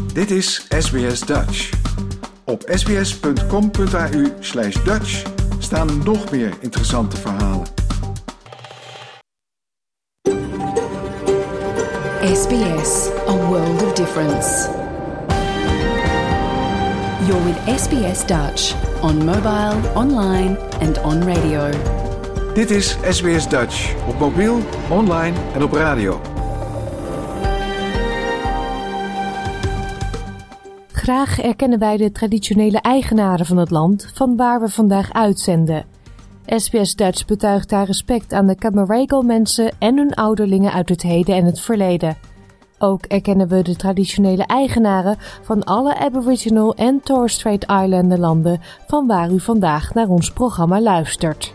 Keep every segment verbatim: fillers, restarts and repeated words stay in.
Dit is S B S Dutch. Op sbs.com.au slash Dutch staan nog meer interessante verhalen. S B S, a world of difference. You're with S B S Dutch on mobile, online and on radio. Dit is S B S Dutch op mobiel, online en op radio. Graag erkennen wij de traditionele eigenaren van het land van waar we vandaag uitzenden. S B S Dutch betuigt haar respect aan de Camaragal-mensen en hun ouderlingen uit het heden en het verleden. Ook erkennen we de traditionele eigenaren van alle Aboriginal en Torres Strait Islander landen van waar u vandaag naar ons programma luistert.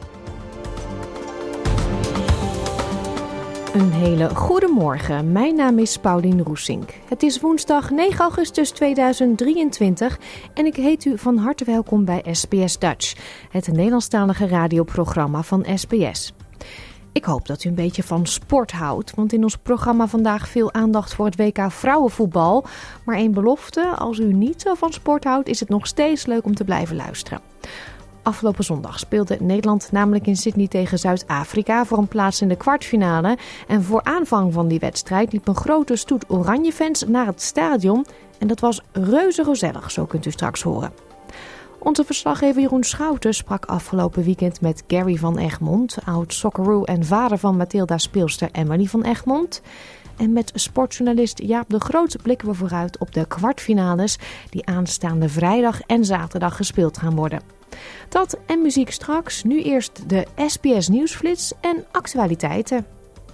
Een hele goede morgen. Mijn naam is Paulien Roesink. Het is woensdag negen augustus tweeduizend drieëntwintig en ik heet u van harte welkom bij S B S Dutch, het Nederlandstalige radioprogramma van S B S. Ik hoop dat u een beetje van sport houdt, want in ons programma vandaag veel aandacht voor het W K vrouwenvoetbal. Maar één belofte, als u niet zo van sport houdt, is het nog steeds leuk om te blijven luisteren. Afgelopen zondag speelde Nederland namelijk in Sydney tegen Zuid-Afrika voor een plaats in de kwartfinale. En voor aanvang van die wedstrijd liep een grote stoet Oranje-fans naar het stadion. En dat was reuze gezellig, zo kunt u straks horen. Onze verslaggever Jeroen Schouten sprak afgelopen weekend met Gary van Egmond, oud Socceroo en vader van Mathilda-speelster Emily van Egmond. En met sportjournalist Jaap de Groot blikken we vooruit op de kwartfinales die aanstaande vrijdag en zaterdag gespeeld gaan worden. Dat en muziek straks, nu eerst de S B S Nieuwsflits en actualiteiten.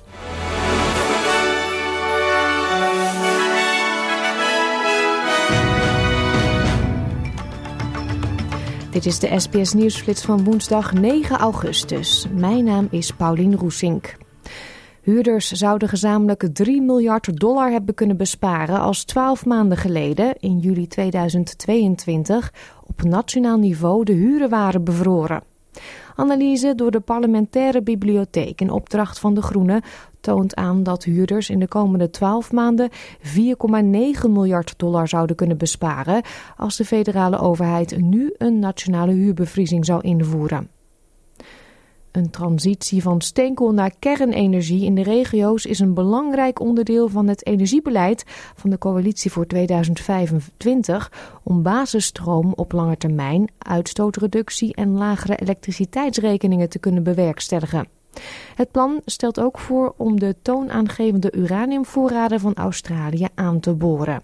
Dit is de S B S Nieuwsflits van woensdag negen augustus. Mijn naam is Paulien Roesink. Huurders zouden gezamenlijk drie miljard dollar hebben kunnen besparen als twaalf maanden geleden, in juli tweeduizend tweeëntwintig, op nationaal niveau de huren waren bevroren. Analyse door de parlementaire bibliotheek in opdracht van de Groenen toont aan dat huurders in de komende twaalf maanden vier komma negen miljard dollar zouden kunnen besparen als de federale overheid nu een nationale huurbevriezing zou invoeren. Een transitie van steenkool naar kernenergie in de regio's is een belangrijk onderdeel van het energiebeleid van de coalitie voor tweeduizend vijfentwintig om basisstroom op lange termijn, uitstootreductie en lagere elektriciteitsrekeningen te kunnen bewerkstelligen. Het plan stelt ook voor om de toonaangevende uraniumvoorraden van Australië aan te boren.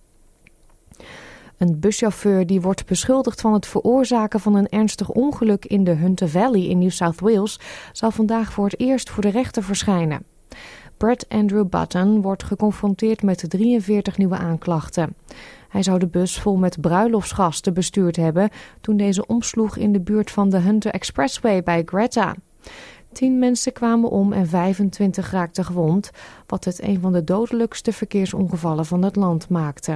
Een buschauffeur die wordt beschuldigd van het veroorzaken van een ernstig ongeluk in de Hunter Valley in New South Wales zal vandaag voor het eerst voor de rechter verschijnen. Brett Andrew Button wordt geconfronteerd met drieënveertig nieuwe aanklachten. Hij zou de bus vol met bruiloftsgasten bestuurd hebben toen deze omsloeg in de buurt van de Hunter Expressway bij Greta. Tien mensen kwamen om en vijfentwintig raakten gewond, wat het een van de dodelijkste verkeersongevallen van het land maakte.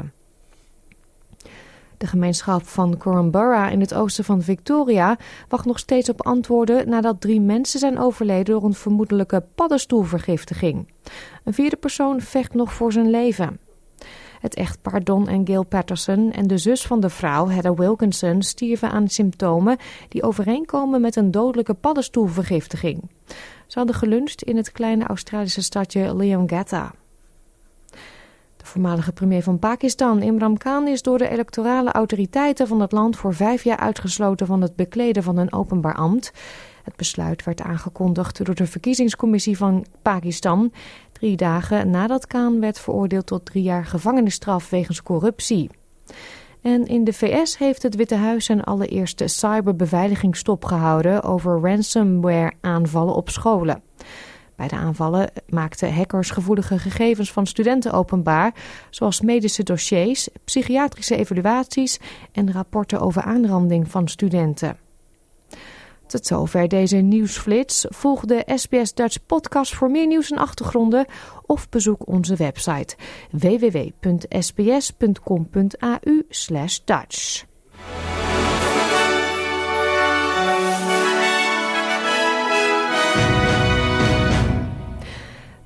De gemeenschap van Korumburra in het oosten van Victoria wacht nog steeds op antwoorden nadat drie mensen zijn overleden door een vermoedelijke paddenstoelvergiftiging. Een vierde persoon vecht nog voor zijn leven. Het echtpaar Don en Gail Patterson en de zus van de vrouw, Heather Wilkinson, stierven aan symptomen die overeenkomen met een dodelijke paddenstoelvergiftiging. Ze hadden geluncht in het kleine Australische stadje Leongatha. De voormalige premier van Pakistan, Imran Khan, is door de electorale autoriteiten van het land voor vijf jaar uitgesloten van het bekleden van een openbaar ambt. Het besluit werd aangekondigd door de verkiezingscommissie van Pakistan, drie dagen nadat Khan werd veroordeeld tot drie jaar gevangenisstraf wegens corruptie. En in de V S heeft het Witte Huis zijn allereerste cyberbeveiliging stopgehouden over ransomware-aanvallen op scholen. Bij de aanvallen maakten hackers gevoelige gegevens van studenten openbaar, zoals medische dossiers, psychiatrische evaluaties en rapporten over aanranding van studenten. Tot zover deze nieuwsflits. Volg de S B S Dutch podcast voor meer nieuws en achtergronden of bezoek onze website w w w punt s b s punt com punt a u slash Dutch.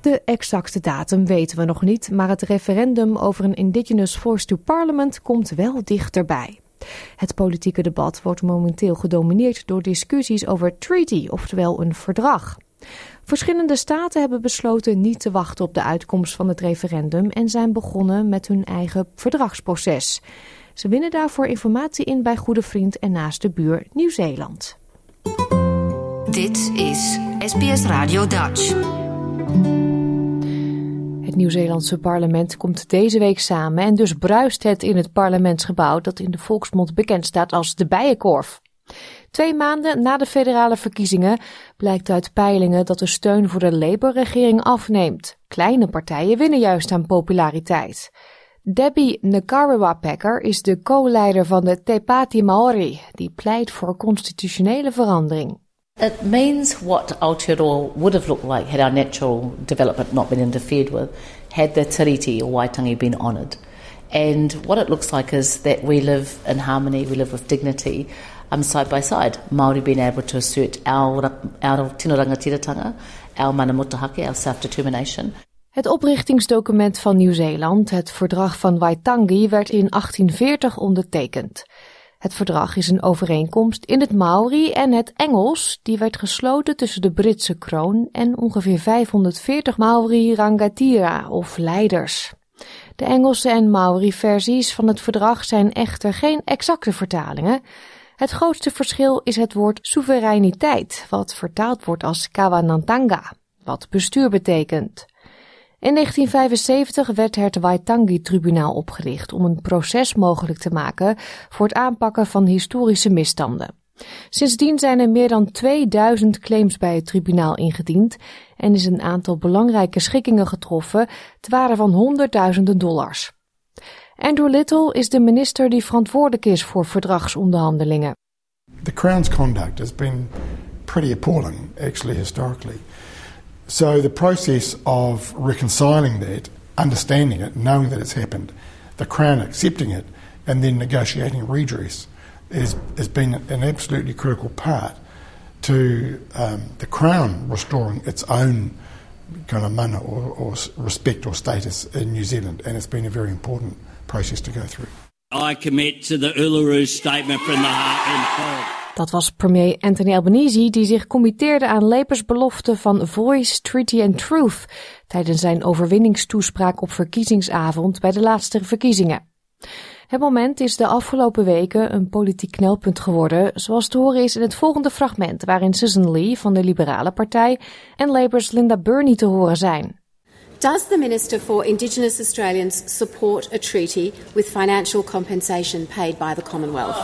De exacte datum weten we nog niet, maar het referendum over een Indigenous Voice to Parliament komt wel dichterbij. Het politieke debat wordt momenteel gedomineerd door discussies over treaty, oftewel een verdrag. Verschillende staten hebben besloten niet te wachten op de uitkomst van het referendum en zijn begonnen met hun eigen verdragsproces. Ze winnen daarvoor informatie in bij goede vriend en naaste buur Nieuw-Zeeland. Dit is S B S Radio Dutch. Het Nieuw-Zeelandse parlement komt deze week samen en dus bruist het in het parlementsgebouw dat in de volksmond bekend staat als de Bijenkorf. Twee maanden na de federale verkiezingen blijkt uit peilingen dat de steun voor de Labour-regering afneemt. Kleine partijen winnen juist aan populariteit. Debbie Nkariwa-Packer is de co-leider van de Te Pāti Māori, die pleit voor constitutionele verandering. It means what Aotearoa would have looked like had our natural development not been interfered with, had the tiriti or Waitangi been honoured. And what it looks like is that we live in harmony, we live with dignity, um, side by side. Māori being able to assert our, our tino rangatiratanga, our mana mutahake, our self-determination. Het oprichtingsdocument van Nieuw-Zeeland, het Verdrag van Waitangi, werd in achttien veertig ondertekend. Het verdrag is een overeenkomst in het Maori en het Engels, die werd gesloten tussen de Britse kroon en ongeveer vijfhonderdveertig Maori rangatira of leiders. De Engelse en Maori-versies van het verdrag zijn echter geen exacte vertalingen. Het grootste verschil is het woord soevereiniteit, wat vertaald wordt als kawanantanga, wat bestuur betekent. In negentien vijfenzeventig werd het Waitangi-tribunaal opgericht om een proces mogelijk te maken voor het aanpakken van historische misstanden. Sindsdien zijn er meer dan tweeduizend claims bij het tribunaal ingediend en is een aantal belangrijke schikkingen getroffen ter waarde van honderdduizenden dollars. Andrew Little is de minister die verantwoordelijk is voor verdragsonderhandelingen. The Crown's conduct has been pretty appalling, actually, historically. So the process of reconciling that, understanding it, knowing that it's happened, the Crown accepting it, and then negotiating redress is, has been an absolutely critical part to um, the Crown restoring its own kind of mana or, or respect or status in New Zealand, and it's been a very important process to go through. I commit to the Uluru Statement from the Heart and Soul. Dat was premier Anthony Albanese die zich committeerde aan Labour's belofte van Voice, Treaty and Truth tijdens zijn overwinningstoespraak op verkiezingsavond bij de laatste verkiezingen. Het moment is de afgelopen weken een politiek knelpunt geworden, zoals te horen is in het volgende fragment waarin Susan Lee van de Liberale Partij en Labour's Linda Burney te horen zijn. Does the Minister for Indigenous Australians support a treaty with financial compensation paid by the Commonwealth?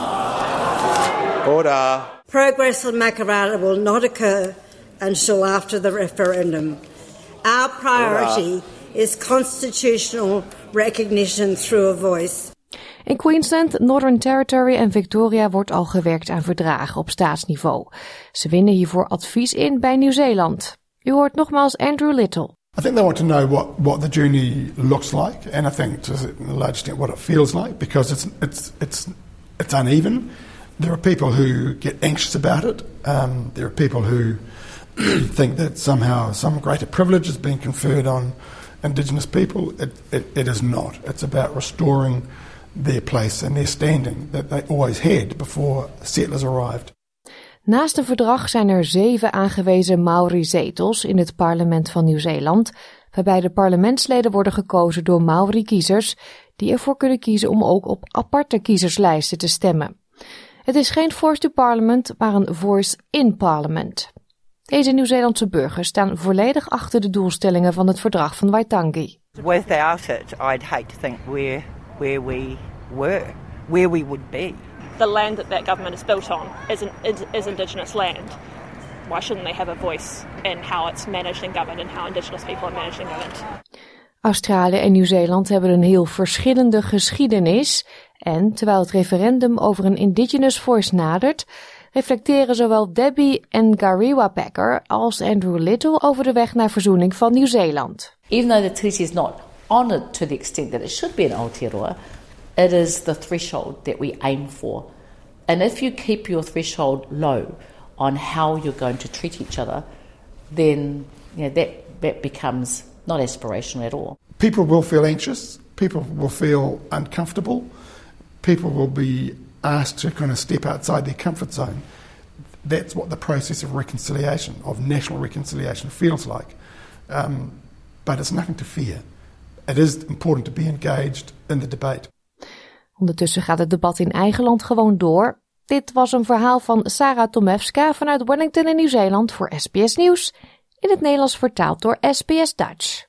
Order. Progress on Makarrata will not occur until after the referendum. Our priority Order. is constitutional recognition through a voice. In Queensland, Northern Territory en Victoria wordt al gewerkt aan verdragen op staatsniveau. Ze winnen hiervoor advies in bij Nieuw-Zeeland. U hoort nogmaals Andrew Little. I think they want to know what, what the journey looks like, and I think to a large extent what it feels like, because it's it's it's it's uneven. There are people who get anxious about it. Um, there are people who think that somehow some greater privilege has been conferred on Indigenous people. It, it, it is not. It's about restoring their place and their standing that they always had before settlers arrived. Naast een verdrag zijn er zeven aangewezen Maori-zetels in het parlement van Nieuw-Zeeland, waarbij de parlementsleden worden gekozen door Maori-kiezers, die ervoor kunnen kiezen om ook op aparte kiezerslijsten te stemmen. Het is geen voice to parliament, maar een voice in parliament. Deze Nieuw-Zeelandse burgers staan volledig achter de doelstellingen van het verdrag van Waitangi. Without it, I'd hate to think where where we were, where we would be. The land that that government is built on is, an, is, is Indigenous land. Why shouldn't they have a voice in how it's managed and governed and how Indigenous people are managed and governed? Australië en Nieuw-Zeeland hebben een heel verschillende geschiedenis en terwijl het referendum over een Indigenous Voice nadert, reflecteren zowel Debbie Nkariwa-Packer als Andrew Little over de weg naar verzoening van Nieuw-Zeeland. Even though the treaty is not honoured to the extent that it should be in Aotearoa, it is the threshold that we aim for. And if you keep your threshold low on how you're going to treat each other, then you know, that, that becomes not aspirational at all. People will feel anxious. People will feel uncomfortable. People will be asked to kind of step outside their comfort zone. That's what the process of reconciliation, of national reconciliation, feels like. Um, but it's nothing to fear. It is important to be engaged in the debate. Ondertussen gaat het debat in eigen land gewoon door. Dit was een verhaal van Sarah Tomewska vanuit Wellington in Nieuw-Zeeland voor S B S Nieuws. In het Nederlands vertaald door S B S Dutch.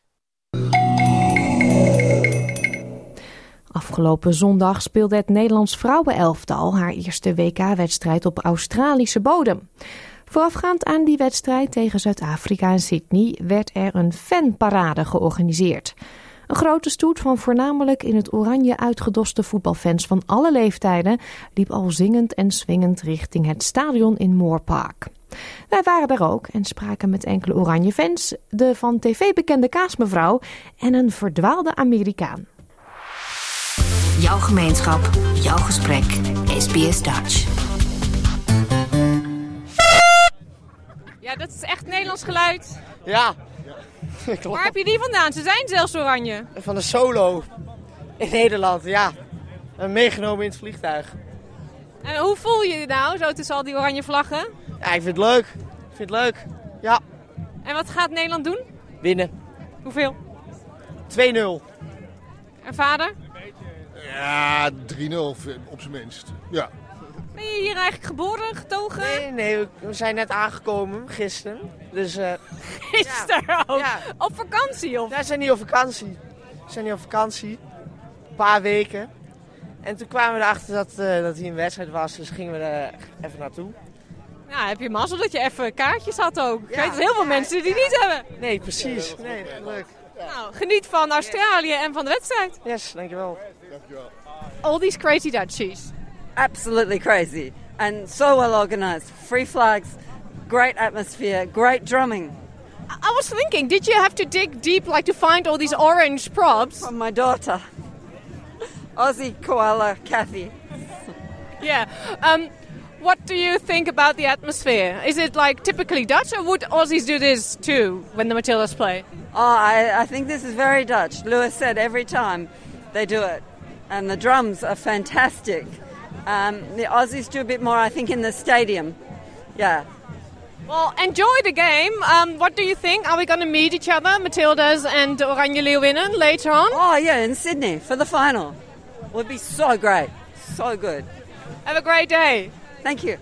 Afgelopen zondag speelde het Nederlands vrouwenelftal haar eerste W K-wedstrijd op Australische bodem. Voorafgaand aan die wedstrijd tegen Zuid-Afrika en Sydney werd er een fanparade georganiseerd. Een grote stoet van voornamelijk in het oranje uitgedoste voetbalfans van alle leeftijden liep al zingend en swingend richting het stadion in Moore Park. Wij waren daar ook en spraken met enkele oranje fans, de van tv bekende kaasmevrouw en een verdwaalde Amerikaan. Jouw gemeenschap, jouw gesprek, S B S Dutch. Ja, dat is echt Nederlands geluid. Ja. Waar heb je die vandaan? Ze zijn zelfs oranje. Van de Solo in Nederland, ja. En meegenomen in het vliegtuig. En hoe voel je je nou, zo tussen al die oranje vlaggen? Ja, ik vind het leuk. Ik vind het leuk, ja. En wat gaat Nederland doen? Winnen. Hoeveel? twee nul. En vader? Ja, drie nul op zijn minst, ja. Ben je hier eigenlijk geboren, getogen? Nee, nee, we, we zijn net aangekomen, gisteren. Dus, uh, gisteren ja. ook? Ja. Op vakantie? Of? Ja, we zijn niet op vakantie. We zijn niet op vakantie. Een paar weken. En toen kwamen we erachter dat, uh, dat hier een wedstrijd was, dus gingen we er even naartoe. Ja, heb je mazzel dat je even kaartjes had ook. Ik ja, weet dat heel veel ja, mensen die ja. niet hebben. Nee, precies. Nee, leuk. Nou, geniet van Australië en van de wedstrijd. Yes, dankjewel. Dankjewel. All these crazy Dutchies. Absolutely crazy. And so well organized. Free flags, great atmosphere, great drumming. I was thinking, did you have to dig deep like to find all these orange props? From my daughter. Aussie koala Kathy. Yeah. Um, what do you think about the atmosphere? Is it like typically Dutch, or would Aussies do this too when the Matildas play? Oh, I, I think this is very Dutch. Lewis said every time they do it. And the drums are fantastic. Um, the Aussies do a bit more, I think, in the stadium. Yeah. Well, enjoy the game. Um, what do you think? Are we going to meet each other, Matildas and Oranje Leeuwinnen, later on? Oh, yeah, in Sydney for the final. Would be so great. So good. Have a great day. Thank you.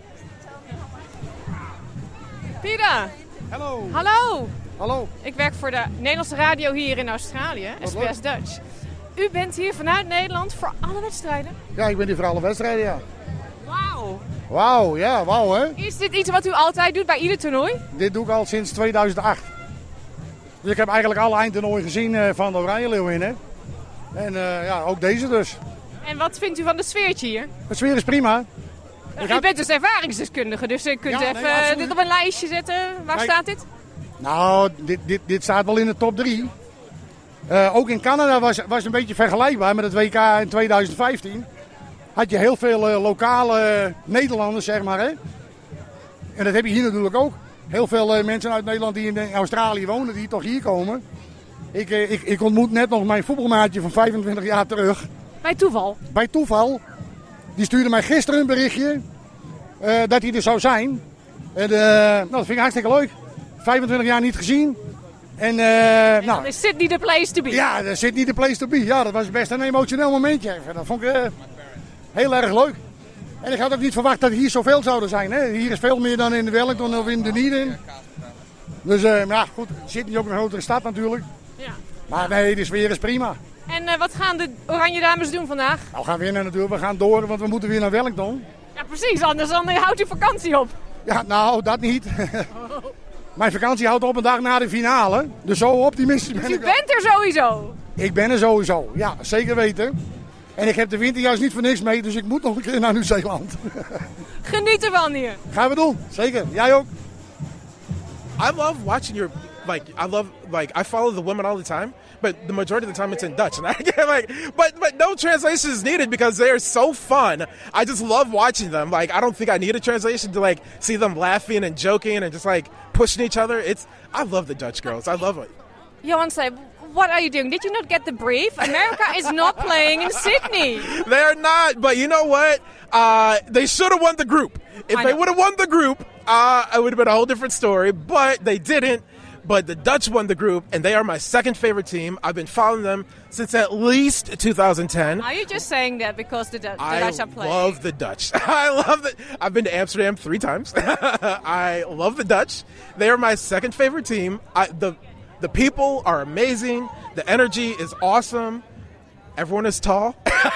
Peter. Hallo. Hallo. Hallo. Ik werk voor de Nederlandse radio hier in Australië, S B S Dutch. U bent hier vanuit Nederland voor alle wedstrijden? Ja, ik ben hier voor alle wedstrijden, ja. Wauw. Wauw, ja, wauw hè. Is dit iets wat u altijd doet bij ieder toernooi? Dit doe ik al sinds tweeduizend acht. Dus ik heb eigenlijk alle eindtoernooien gezien uh, van de Oranje Leeuwinnen. En uh, ja, ook deze dus. En wat vindt u van de sfeertje hier? De sfeer is prima. Uh, u bent dus ervaringsdeskundige, dus u kunt ja, even nee, dit op een lijstje zetten. Waar Kijk, staat dit? Nou, dit, dit, dit staat wel in de top drie. Uh, ook in Canada was het een beetje vergelijkbaar met het W K in tweeduizend vijftien. Had je heel veel uh, lokale uh, Nederlanders, zeg maar. Hè? En dat heb je hier natuurlijk ook. Heel veel uh, mensen uit Nederland die in Australië wonen, die toch hier komen. Ik, uh, ik, ik ontmoet net nog mijn voetbalmaatje van vijfentwintig jaar terug. Bij toeval? Bij toeval. Die stuurde mij gisteren een berichtje uh, dat hij er zou zijn. En, uh, nou, dat vind ik hartstikke leuk. vijfentwintig jaar niet gezien. En, uh, en nou, is Sydney the place to be? Ja, dat is Sydney the place to be. Ja, dat was best een emotioneel momentje. Dat vond ik uh, heel erg leuk. En ik had ook niet verwacht dat hier zoveel zouden zijn. Hè. Hier is veel meer dan in Wellington of in Dunedin. Dus uh, ja, goed, Sydney is ook een grotere stad natuurlijk. Ja. Maar nee, de sfeer is prima. En uh, wat gaan de Oranje Dames doen vandaag? Nou, we gaan winnen natuurlijk. We gaan door, want we moeten weer naar Wellington. Ja, precies. Anders dan houdt u vakantie op. Ja, nou, dat niet. Oh. Mijn vakantie houdt op een dag na de finale. Dus zo optimistisch ben dus ik. U bent er sowieso? Ik ben er sowieso, ja, zeker weten. En ik heb de winter juist niet voor niks mee, dus ik moet nog een keer naar Nieuw-Zeeland. Geniet ervan hier. Gaan we doen, zeker. Jij ook. I love watching your, like, I love, like, I follow the women all the time, but the majority of the time it's in Dutch. And I get like, but, but no translation is needed because they're so fun. I just love watching them. Like, I don't think I need a translation to, like, see them laughing and joking and just, like, pushing each other. It's, I love the Dutch girls. I love it. Johan said, what are you doing? Did you not get the brief? America is not playing in Sydney. They're not, but you know what? Uh, they should have won the group. If they would have won the group, uh, it would have been a whole different story, but they didn't. But the Dutch won the group, and they are my second favorite team. I've been following them since at least two thousand ten. Are you just saying that because the, du- the I Dutch are playing? I love the Dutch. I love it. I've been to Amsterdam three times. I love the Dutch. They are my second favorite team. I, the The people are amazing. The energy is awesome. Everyone is tall.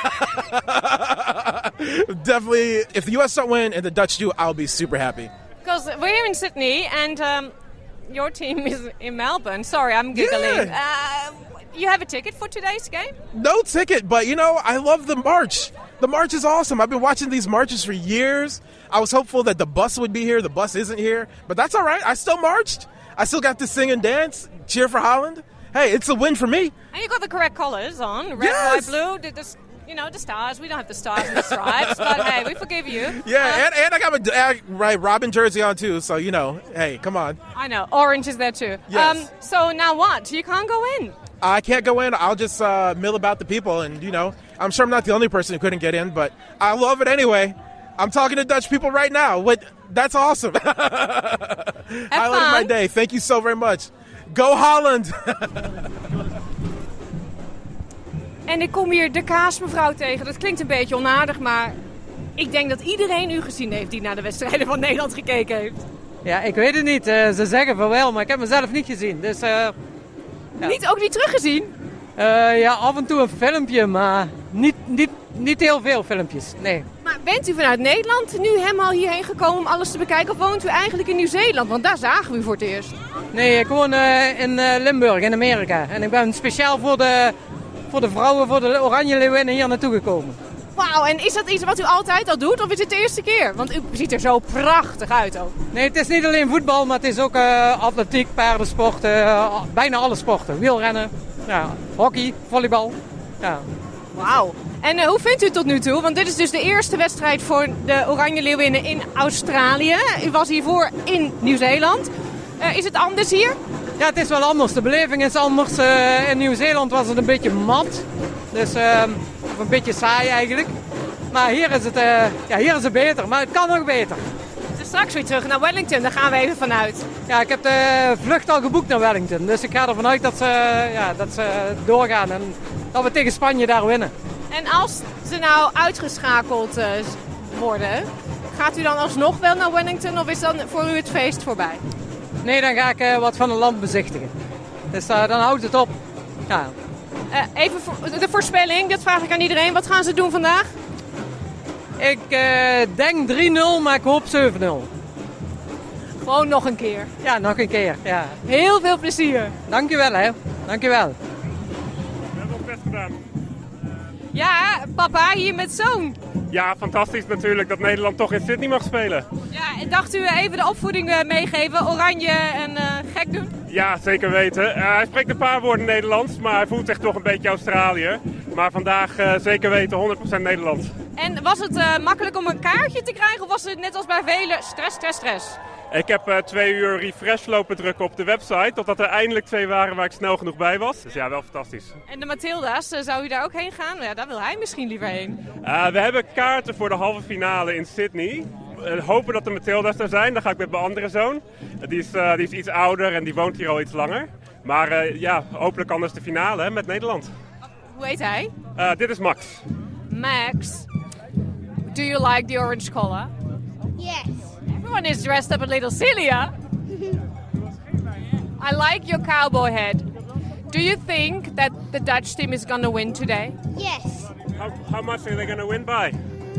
Definitely, if the U S don't win and the Dutch do, I'll be super happy. Because we're here in Sydney and um, your team is in Melbourne. Sorry, I'm giggling. Yeah. Uh, you have a ticket for today's game? No ticket, but you know, I love the march. The march is awesome. I've been watching these marches for years. I was hopeful that the bus would be here. The bus isn't here, but that's all right. I still marched. I still got to sing and dance, cheer for Holland. Hey, it's a win for me. And you got the correct colours on. Red, Yes. white, blue. The, the, you know, the stars. We don't have the stars and the stripes, but hey, we forgive you. Yeah, Uh, and, and I got my uh, right Robin jersey on too, so you know, hey, come on. I know. Orange is there too. Yes. Um, so now what? You can't go in. I can't go in. I'll just uh, mill about the people, and you know, I'm sure I'm not the only person who couldn't get in, but I love it anyway. I'm talking to Dutch people right now. What? That's awesome. Highlight of my day. Thank you so very much. Go Holland! En ik kom hier de kaasmevrouw tegen. Dat klinkt een beetje onaardig, maar ik denk dat iedereen u gezien heeft die naar de wedstrijden van Nederland gekeken heeft. Ja, ik weet het niet. Uh, ze zeggen van wel, maar ik heb mezelf niet gezien. Dus, uh, ja. Niet, ook niet teruggezien? Uh, ja, af en toe een filmpje, maar niet, niet, niet heel veel filmpjes. Nee. Maar bent u vanuit Nederland nu helemaal hierheen gekomen om alles te bekijken? Of woont u eigenlijk in Nieuw-Zeeland? Want daar zagen we u voor het eerst. Nee, ik woon uh, in uh, Limburg, in Amerika. En ik ben speciaal voor de, voor de vrouwen, voor de Oranje Leeuwinnen hier naartoe gekomen. Wauw, en is dat iets wat u altijd al doet? Of is het de eerste keer? Want u ziet er zo prachtig uit ook. Nee, het is niet alleen voetbal, maar het is ook uh, atletiek, paardensport, uh, bijna alle sporten. Wielrennen, ja, hockey, volleybal. Ja. Wauw. En uh, hoe vindt u het tot nu toe? Want dit is dus de eerste wedstrijd voor de Oranje Leeuwinnen in Australië. U was hiervoor in Nieuw-Zeeland. Uh, is het anders hier? Ja, het is wel anders. De beleving is anders. Uh, in Nieuw-Zeeland was het een beetje mat. Dus, uh, of een beetje saai eigenlijk. Maar hier is, het, uh, ja, hier is het beter. Maar het kan nog beter. Dus straks weer terug naar Wellington. Daar gaan we even vanuit. Ja, ik heb de vlucht al geboekt naar Wellington. Dus ik ga ervan uit dat ze, ja, dat ze doorgaan. En dat we tegen Spanje daar winnen. En als ze nou uitgeschakeld uh, worden, gaat u dan alsnog wel naar Wellington of is dan voor u het feest voorbij? Nee, dan ga ik uh, wat van het land bezichtigen. Dus uh, dan houdt het op. Ja. Uh, even voor, de voorspelling, dat vraag ik aan iedereen. Wat gaan ze doen vandaag? Ik uh, denk drie nul, maar ik hoop zeven nul. Gewoon nog een keer? Ja, nog een keer. Ja. Heel veel plezier. Dankjewel, hè. Dankjewel. We hebben ons best gedaan. Ja, papa, hier met zoon. Ja, fantastisch natuurlijk dat Nederland toch in Sydney mag spelen. Ja, en dacht u even de opvoeding meegeven, oranje en uh, gek doen? Ja, zeker weten. Uh, hij spreekt een paar woorden Nederlands, maar hij voelt zich toch een beetje Australië. Maar vandaag uh, zeker weten honderd procent Nederlands. En was het uh, makkelijk om een kaartje te krijgen of was het net als bij velen stress, stress, stress? Ik heb uh, twee uur refresh lopen drukken op de website, totdat er eindelijk twee waren waar ik snel genoeg bij was. Dus ja, wel fantastisch. En de Matilda's, uh, zou u daar ook heen gaan? Ja, daar wil hij misschien liever heen. Uh, we hebben kaarten voor de halve finale in Sydney. Uh, hopen dat de Matilda's er zijn. Dan ga ik met mijn andere zoon. Uh, die, is, uh, die is iets ouder en die woont hier al iets langer. Maar uh, ja, hopelijk anders de finale hè, met Nederland. Hoe heet hij? Uh, dit is Max. Max, do you like the orange color? Yes. Everyone is dressed up a little silly, huh? I like your cowboy hat. Do you think that the Dutch team is going to win today? Yes. How, how much are they going to win by?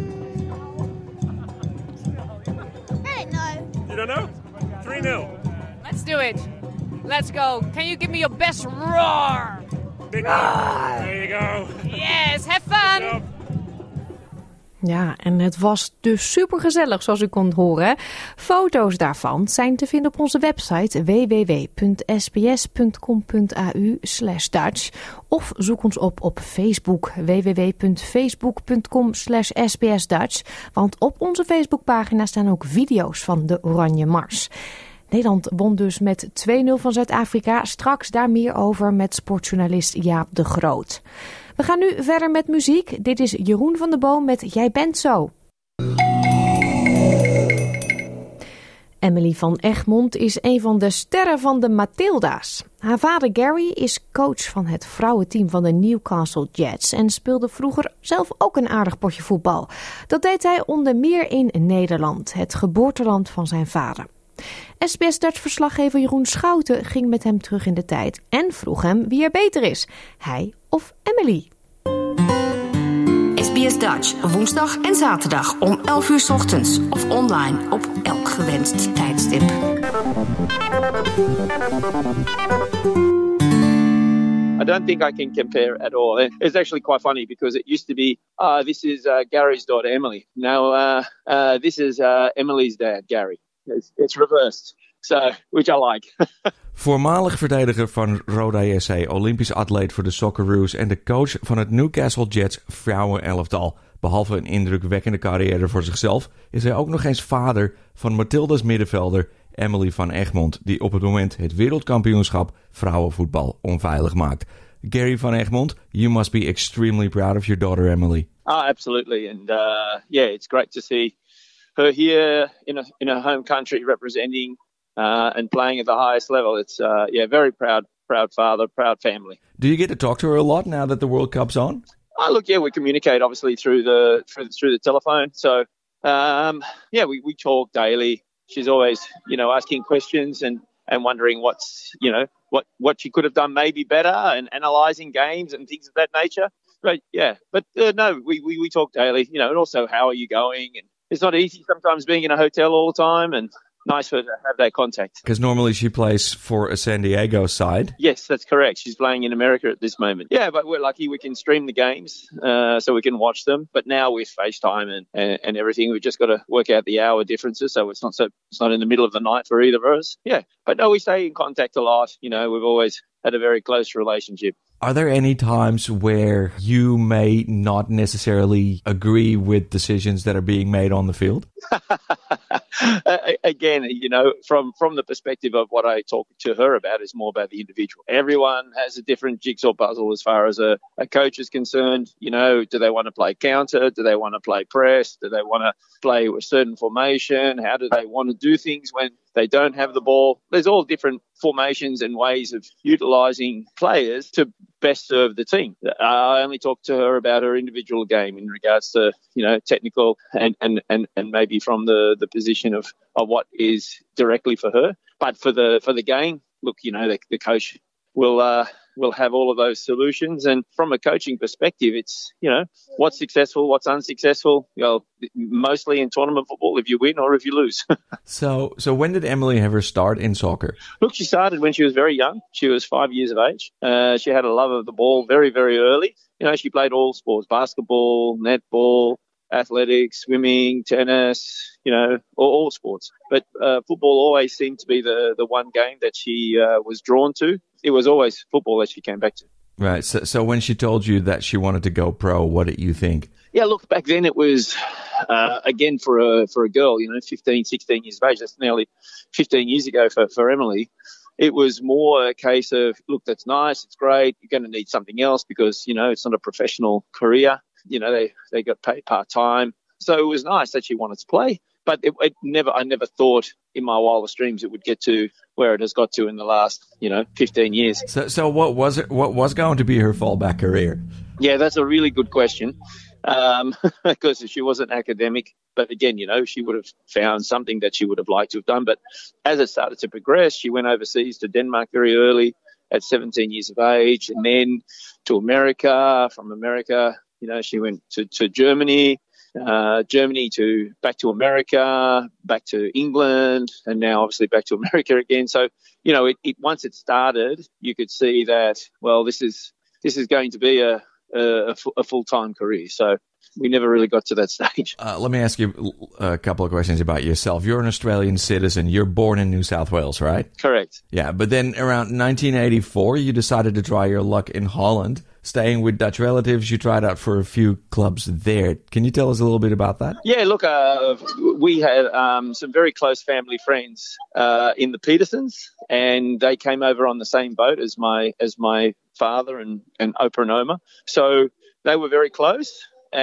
I don't know. You don't know? three nil. Let's do it. Let's go. Can you give me your best roar? Big roar. There you go. Yes, have fun. Ja, en het was dus supergezellig, zoals u kon horen. Foto's daarvan zijn te vinden op onze website w w w punt s b s punt com punt a u slash Dutch of zoek ons op op Facebook w w w punt facebook punt com slash s b s Dutch, want op onze Facebookpagina staan ook video's van de Oranje Mars. Nederland won dus met twee nul van Zuid-Afrika. Straks daar meer over met sportjournalist Jaap de Groot. We gaan nu verder met muziek. Dit is Jeroen van der Boom met Jij bent zo. Emily van Egmond is een van de sterren van de Matilda's. Haar vader Gary is coach van het vrouwenteam van de Newcastle Jets en speelde vroeger zelf ook een aardig potje voetbal. Dat deed hij onder meer in Nederland, het geboorteland van zijn vader. S B S Dutch-verslaggever Jeroen Schouten ging met hem terug in de tijd en vroeg hem wie er beter is, hij of Emily. S B S Dutch, woensdag en zaterdag om elf uur 's ochtends of online op elk gewenst tijdstip. I don't think I can compare at all. It's actually quite funny because it used to be, ah, uh, this is uh, Gary's daughter, Emily. Now, uh, uh, this is uh, Emily's dad, Gary. It's, it's reversed. So, which I like. Voormalig verdediger van Roda J C, Olympisch atleet voor de Socceroos en de coach van het Newcastle Jets vrouwenelftal. Behalve een indrukwekkende carrière voor zichzelf, is hij ook nog eens vader van Matilda's middenvelder Emily van Egmond, die op het moment het wereldkampioenschap vrouwenvoetbal onveilig maakt. Gary van Egmond, you must be extremely proud of your daughter Emily. Ah, absolutely. And uh, yeah, it's great to see her here in a, in her home country representing uh, and playing at the highest level. It's uh, yeah, very proud, proud father, proud family. Do you get to talk to her a lot now that the World Cup's on? Oh, look, yeah, we communicate obviously through the through the, through the telephone. So um, yeah, we, we talk daily. She's always, you know, asking questions and, and wondering what's, you know, what, what she could have done maybe better and analysing games and things of that nature. But yeah, but uh, no, we, we, we talk daily, you know, and also how are you going? And it's not easy sometimes being in a hotel all the time, and nice for her to have that contact. Because normally she plays for a San Diego side. Yes, that's correct. She's playing in America at this moment. Yeah, but we're lucky we can stream the games uh, so we can watch them. But now with FaceTime and, and, and everything, we've just got to work out the hour differences so it's not so it's not in the middle of the night for either of us. Yeah, but no, we stay in contact a lot. You know, we've always had a very close relationship. Are there any times where you may not necessarily agree with decisions that are being made on the field? Again, you know, from, from the perspective of what I talk to her about is more about the individual. Everyone has a different jigsaw puzzle as far as a, a coach is concerned. You know, do they want to play counter? Do they want to play press? Do they want to play a certain formation? How do they want to do things when they don't have the ball? There's all different formations and ways of utilising players to best serve the team. I only talk to her about her individual game in regards to, you know, technical and, and, and, and maybe from the, the position of, of what is directly for her. But for the for the game, look, you know, the, the coach will uh, will have all of those solutions. And from a coaching perspective, it's, you know, what's successful, what's unsuccessful. Well, mostly in tournament football, if you win or if you lose. so, so when did Emily have her start in soccer? Look, she started when she was very young. She was five years of age. Uh, she had a love of the ball very, very early. You know, she played all sports: basketball, netball, athletics, swimming, tennis, you know, all, all sports. But uh, football always seemed to be the, the one game that she uh, was drawn to. It was always football that she came back to. Right. So, so when she told you that she wanted to go pro, what did you think? Yeah, look, back then it was, uh, again, for a for a girl, you know, fifteen, sixteen years of age. That's nearly fifteen years ago for, for Emily. It was more a case of, look, that's nice, it's great. You're going to need something else because, you know, it's not a professional career. You know, they, they got paid part-time. So it was nice that she wanted to play. But it, it never, I never thought in my wildest dreams it would get to where it has got to in the last, you know, fifteen years. So, so what was it? What was going to be her fallback career? Yeah, that's a really good question. Um, because she was an academic, but again, you know, she would have found something that she would have liked to have done. But as it started to progress, she went overseas to Denmark very early at seventeen years of age, and then to America. From America, you know, she went to, to Germany. Uh, Germany to back to America, back to England, and now obviously back to America again. So, you know, it, it once it started, you could see that, well, this is this is going to be a a, a full-time career. So we never really got to that stage. Uh, let me ask you a couple of questions about yourself. You're an Australian citizen. You're born in New South Wales, right? Correct. Yeah, but then around nineteen eighty-four, you decided to try your luck in Holland. Staying with Dutch relatives, you tried out for a few clubs there. Can you tell us a little bit about that? Yeah, look, uh, we had um, some very close family friends uh, in the Petersons, and they came over on the same boat as my as my father and, and Opa and Oma. So they were very close,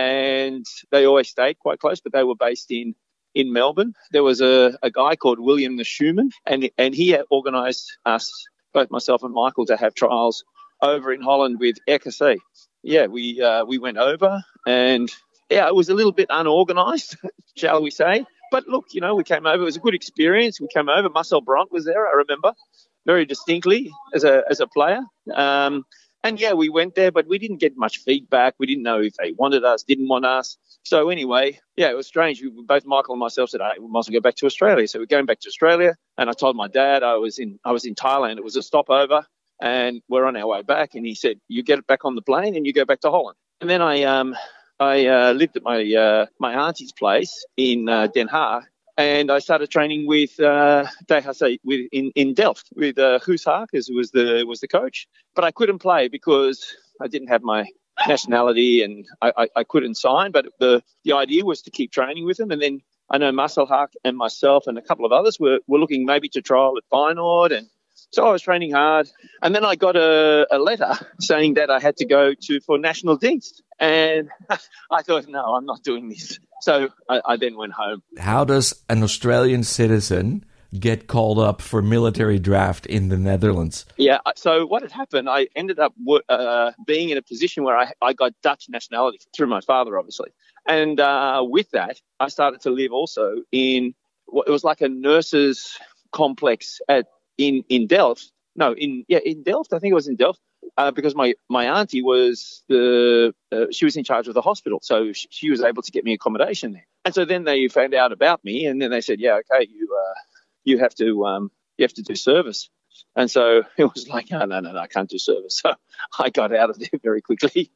and they always stayed quite close, but they were based in, in Melbourne. There was a, a guy called William the Schumann, and, and he organised us, both myself and Michael, to have trials over in Holland with R K C. Yeah, we uh, we went over, and yeah, it was a little bit unorganised, shall we say. But look, you know, we came over. It was a good experience. We came over. Marcel Brandt was there, I remember, very distinctly as a as a player. Um, and yeah, we went there, but we didn't get much feedback. We didn't know if they wanted us, didn't want us. So anyway, yeah, it was strange. We, both Michael and myself said, hey, we must go back to Australia. So we're going back to Australia, and I told my dad I was in I was in Thailand. It was a stopover. And we're on our way back, and he said, "You get back on the plane, and you go back to Holland." And then I, um, I uh, lived at my uh, my auntie's place in uh, Den Haag, and I started training with uh, with in, in Delft with uh, Guus Haakes, who was the was the coach. But I couldn't play because I didn't have my nationality, and I, I, I couldn't sign. But the the idea was to keep training with him, and then I know Marcel Haak and myself and a couple of others were were looking maybe to trial at Feyenoord, and so I was training hard, and then I got a, a letter saying that I had to go to for national dienst, and I thought, no, I'm not doing this. So I, I then went home. How does an Australian citizen get called up for military draft in the Netherlands? Yeah, so what had happened, I ended up uh, being in a position where I, I got Dutch nationality through my father, obviously. And uh, with that, I started to live also in, it was like a nurses' complex at In, in Delft, no, in yeah, in Delft. I think it was in Delft uh, because my, my auntie was the uh, she was in charge of the hospital, so she, she was able to get me accommodation there. And so then they found out about me, and then they said, yeah, okay, you uh, you have to um, you have to do service. And so it was like, oh, no, no, no, I can't do service. So I got out of there very quickly.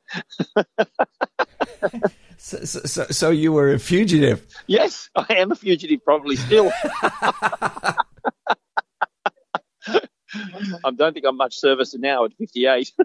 so, so, so you were a fugitive? Yes, I am a fugitive, probably still. I don't think I'm much service now at fifty-eight.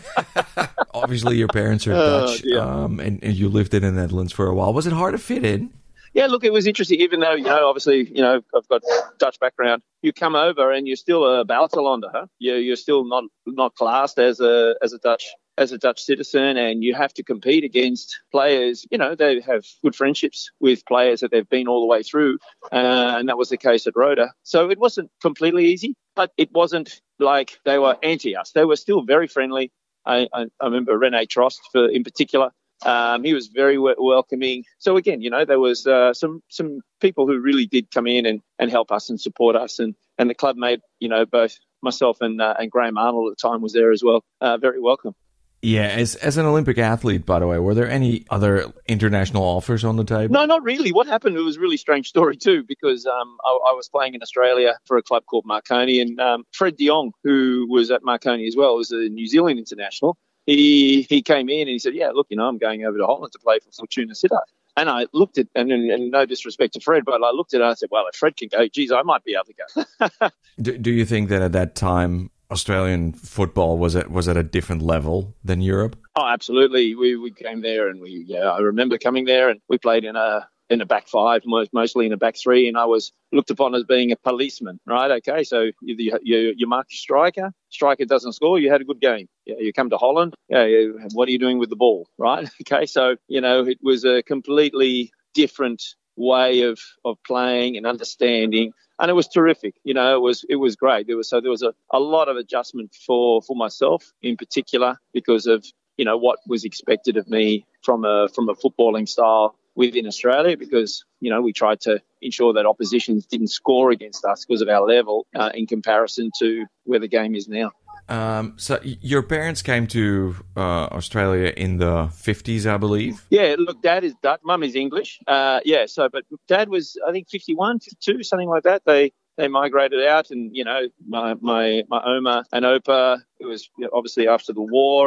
Obviously, your parents are Dutch, uh, yeah. um, and, and you lived in the Netherlands for a while. Was it hard to fit in? Yeah, look, it was interesting. Even though, you know, obviously, you know, I've got Dutch background. You come over and you're still a buitenlander, huh? You're, you're still not not classed as a as a Dutch as a Dutch citizen, and you have to compete against players. You know, they have good friendships with players that they've been all the way through, uh, and that was the case at Roda. So it wasn't completely easy, but it wasn't like they were anti us. They were still very friendly. I, I, I remember Rene Trost, for in particular. Um, he was very w- welcoming. So again, you know, there was uh, some some people who really did come in and, and help us and support us, and, and the club made, you know, both myself and uh, and Graham Arnold at the time was there as well. Uh, very welcome. Yeah, as as an Olympic athlete, by the way, were there any other international offers on the table? No, not really. What happened, it was a really strange story too, because um, I, I was playing in Australia for a club called Marconi, and um, Fred de Jong, who was at Marconi as well, was a New Zealand international. He he came in and he said, yeah, look, you know, I'm going over to Holland to play for Fortuna Sittard. And I looked at, and, and no disrespect to Fred, but I looked at it and I said, well, if Fred can go, geez, I might be able to go. do, do you think that at that time Australian football was at was at a different level than Europe? Oh, absolutely. We we came there, and we yeah, I remember coming there, and we played in a in a back five, most, mostly in a back three, and I was looked upon as being a policeman, right? Okay, so you you, you mark your striker, striker doesn't score, you had a good game. Yeah, you come to Holland, yeah, you, what are you doing with the ball, right? Okay, so, you know, it was a completely different way of, of playing and understanding, and it was terrific. You know, it was it was great. There was so there was a, a lot of adjustment for, for myself in particular because of, you know, what was expected of me from a from a footballing style within Australia, because, you know, we tried to ensure that oppositions didn't score against us because of our level uh, in comparison to where the game is now. Um, so your parents came to uh, Australia in the fifties, I believe? Yeah, look, Dad is Dutch, Mum is English. Uh, yeah, so, but Dad was, I think, fifty-one, fifty-two, something like that. They they migrated out, and, you know, my my, my Oma and Opa, it was obviously after the war, and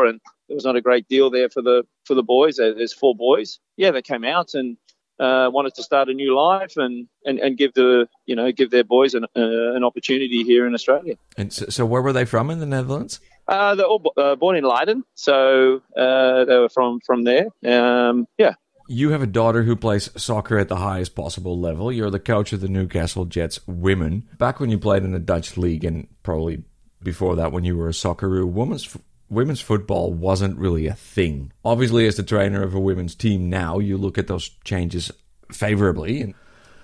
There was not a great deal there for the for the boys. There's four boys. Yeah, they came out and uh, wanted to start a new life and, and, and give the you know give their boys an uh, an opportunity here in Australia. And so, so where were they from in the Netherlands? Uh, they're all uh, born in Leiden, so uh, they were from from there. Um, yeah. You have a daughter who plays soccer at the highest possible level. You're the coach of the Newcastle Jets women. Back when you played in the Dutch league, and probably before that when you were a Socceroo, women's women's football wasn't really a thing. Obviously, as the trainer of a women's team now, you look at those changes favorably.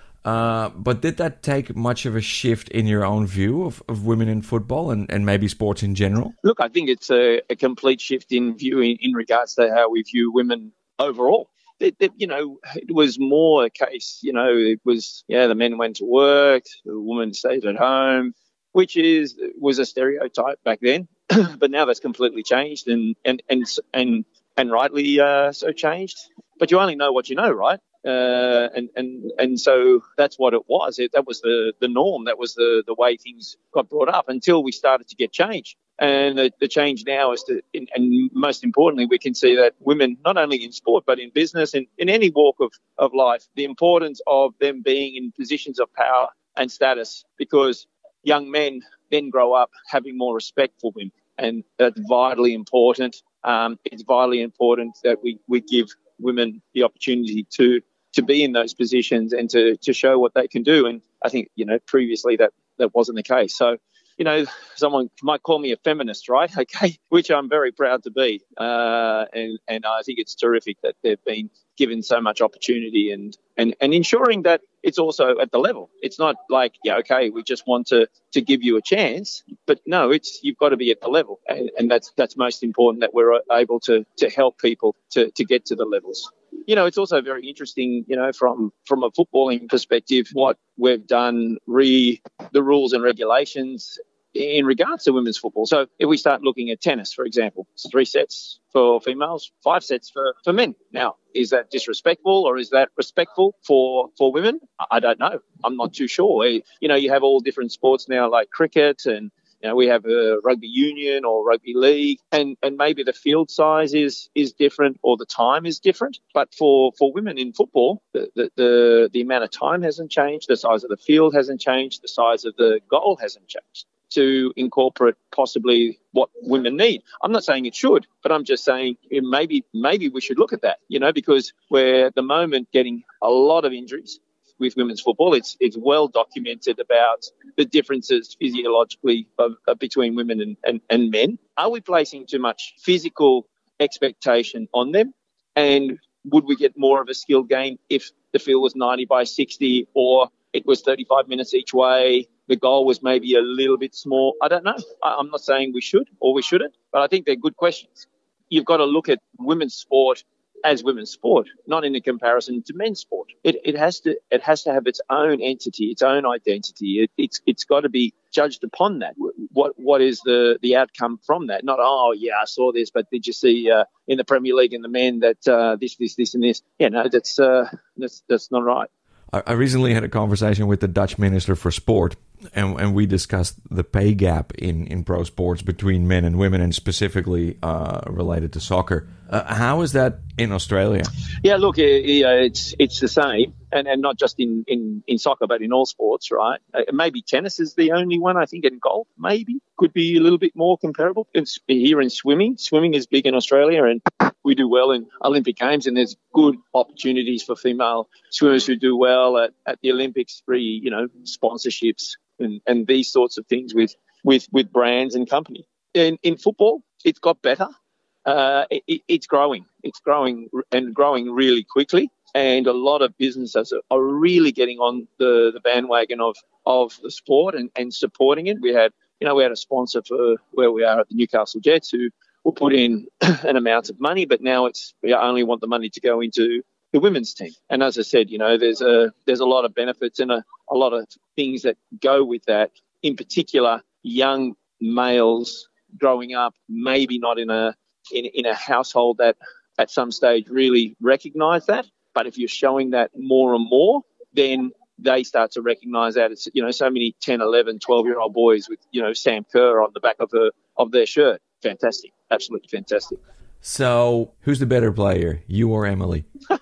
Uh, but did that take much of a shift in your own view of, of women in football and, and maybe sports in general? Look, I think it's a, a complete shift in view in, in regards to how we view women overall. It, it, you know, it was more a case, you know, it was, yeah, the men went to work, the women stayed at home, which is was a stereotype back then. But now that's completely changed and and and and, and rightly uh, so changed. But you only know what you know, right? Uh, and, and and so that's what it was. It, that was the, the norm. That was the, the way things got brought up until we started to get change. And the, the change now is to, in, and most importantly, we can see that women, not only in sport, but in business and in any walk of, of life, the importance of them being in positions of power and status, because young men then grow up having more respect for women. And that's vitally important. Um, it's vitally important that we, we give women the opportunity to to be in those positions and to, to show what they can do. And I think, you know, previously that, that wasn't the case. So, you know, someone might call me a feminist, right? Okay, which I'm very proud to be. Uh, and, and I think it's terrific that they've been given so much opportunity and, and, and ensuring that it's also at the level. It's not like, yeah, okay, we just want to, to give you a chance. But no, it's you've got to be at the level. And, and that's that's most important, that we're able to, to help people to, to get to the levels. You know, it's also very interesting, you know, from, from a footballing perspective, what we've done, re the rules and regulations in regards to women's football. So if we start looking at tennis, for example, it's three sets for females, five sets for, for men. Now, is that disrespectful or is that respectful for, for women? I don't know. I'm not too sure. You know, you have all different sports now like cricket and, you know, we have a rugby union or rugby league, and, and maybe the field size is, is different or the time is different. But for, for women in football, the, the, the, the amount of time hasn't changed, the size of the field hasn't changed, the size of the goal hasn't changed to incorporate possibly what women need. I'm not saying it should, but I'm just saying maybe maybe we should look at that, you know, because we're at the moment getting a lot of injuries with women's football. It's it's well documented about the differences physiologically of, of between women and, and, and men. Are we placing too much physical expectation on them? And would we get more of a skill game if the field was ninety by sixty or it was thirty-five minutes each way? The goal was maybe a little bit small. I don't know. I, I'm not saying we should or we shouldn't, but I think they're good questions. You've got to look at women's sport as women's sport, not in a comparison to men's sport. It, it has to it has to have its own entity, its own identity. It, it's it's got to be judged upon that. What what is the, the outcome from that? Not, oh, yeah, I saw this, but did you see uh, in the Premier League in the men that uh, this, this, this and this? Yeah, no, that's uh, that's that's not right. I recently had a conversation with the Dutch Minister for Sport, and, and we discussed the pay gap in, in pro sports between men and women, and specifically uh, related to soccer. Uh, how is that in Australia? Yeah, look, it's it's the same, and, and not just in, in, in soccer, but in all sports, right? Uh, maybe tennis is the only one, I think, in golf, maybe, could be a little bit more comparable. It's here in swimming. Swimming is big in Australia, and we do well in Olympic Games, and there's good opportunities for female swimmers who do well at, at the Olympics, free, you know, sponsorships and, and these sorts of things with, with, with brands and company. In, in football, it's got better. Uh, it, it's growing. It's growing and growing really quickly. And a lot of businesses are really getting on the, the bandwagon of, of the sport and, and supporting it. We had, you know, we had a sponsor for where we are at the Newcastle Jets who will put in an amount of money, but now it's we only want the money to go into the women's team. And as I said, you know, there's a there's a lot of benefits and a, a lot of things that go with that. In particular, young males growing up, maybe not in a in, in a household that at some stage really recognise that. But if you're showing that more and more, then they start to recognise that. It's, you know, so many ten, eleven, twelve-year-old boys with, you know, Sam Kerr on the back of her, of their shirt. Fantastic. Absolutely fantastic. So, who's the better player, you or Emily?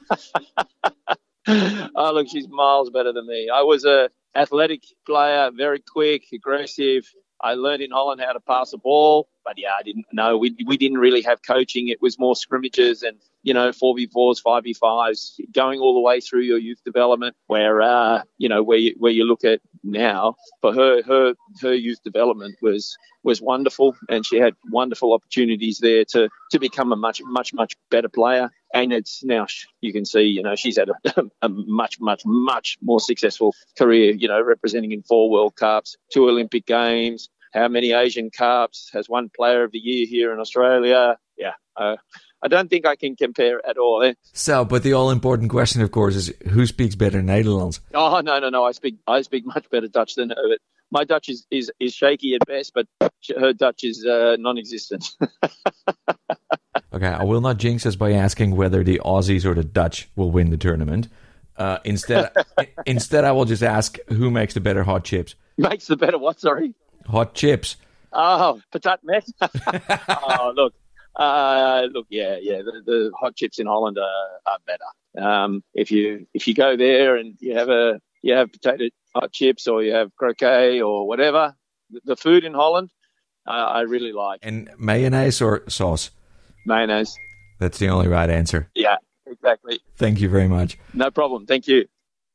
Oh, look, she's miles better than me. I was a athletic player, very quick, aggressive. I learned in Holland how to pass a ball, but yeah, I didn't know. We we didn't really have coaching. It was more scrimmages and, you know, four v fours, five v fives, going all the way through your youth development. Where uh, you know, where you, where you look at now, for her, her her youth development was was wonderful, and she had wonderful opportunities there to to become a much much much better player. And it's now you can see, you know, she's had a, a much much much more successful career. You know, representing in four World Cups, two Olympic Games. How many Asian Cups, has won Player of the Year here in Australia. Yeah, uh, I don't think I can compare at all. Eh? So, but the all-important question, of course, is who speaks better Nederlands? Oh, no, no, no. I speak I speak much better Dutch than her. My Dutch is, is, is shaky at best, but her Dutch is uh, non-existent. Okay, I will not jinx us by asking whether the Aussies or the Dutch will win the tournament. Uh, instead, instead, I will just ask who makes the better hot chips. Makes the better what, sorry? Hot chips. Oh, patat met. Oh, look. Uh, look, yeah, yeah. The, the hot chips in Holland are, are better. Um, if you if you go there and you have a you have potato hot chips or you have croquet or whatever, the, the food in Holland, uh, I really like. And mayonnaise or sauce? Mayonnaise. That's the only right answer. Yeah, exactly. Thank you very much. No problem. Thank you.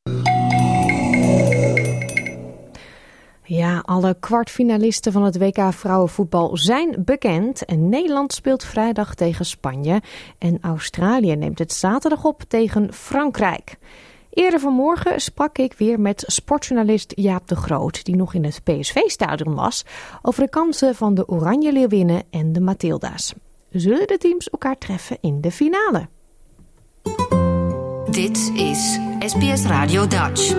Ja, alle kwartfinalisten van het W K vrouwenvoetbal zijn bekend. En Nederland speelt vrijdag tegen Spanje. En Australië neemt het zaterdag op tegen Frankrijk. Eerder vanmorgen sprak ik weer met sportjournalist Jaap de Groot, die nog in het P S V-stadion was, over de kansen van de Oranje Leeuwinnen en de Matilda's. Zullen de teams elkaar treffen in de finale? Dit is S B S Radio Dutch.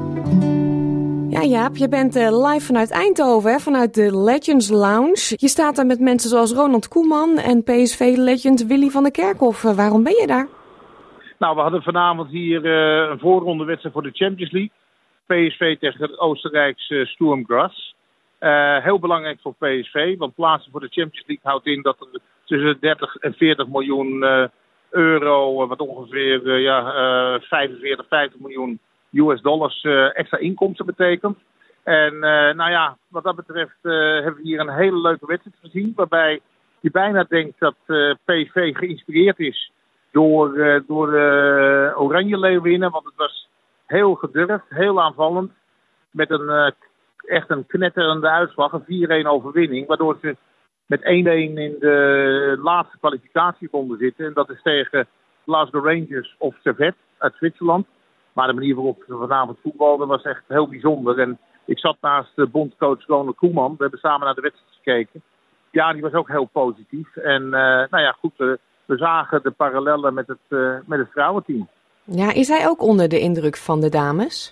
Ja, Jaap, je bent uh, live vanuit Eindhoven, hè? Vanuit de Legends Lounge. Je staat daar met mensen zoals Ronald Koeman en P S V-legend Willy van der Kerkhof. Uh, waarom ben je daar? Nou, we hadden vanavond hier uh, een voorrondewedstrijd voor de Champions League. P S V tegen het Oostenrijkse Sturm Graz. Uh, heel belangrijk voor P S V, want plaatsen voor de Champions League houdt in dat er tussen dertig en veertig miljoen uh, euro, uh, wat ongeveer uh, ja, uh, vijfenveertig, vijftig miljoen U S dollars uh, extra inkomsten betekent. En uh, nou ja, wat dat betreft uh, hebben we hier een hele leuke wedstrijd gezien, waarbij je bijna denkt dat uh, P S V geïnspireerd is door, uh, door uh, Oranje Leeuwinnen, want het was heel gedurfd, heel aanvallend, met een uh, echt een knetterende uitslag, een vier-een overwinning, waardoor ze met één-een in de laatste kwalificatieronde zitten. En dat is tegen Glasgow Rangers of Servette uit Zwitserland. Maar de manier waarop ze vanavond voetbalden was echt heel bijzonder. En ik zat naast de bondcoach Ronald Koeman. We hebben samen naar de wedstrijd gekeken. Ja, die was ook heel positief. En uh, nou ja, goed, uh, we zagen de parallellen met het, uh, met het vrouwenteam. Ja, is hij ook onder de indruk van de dames?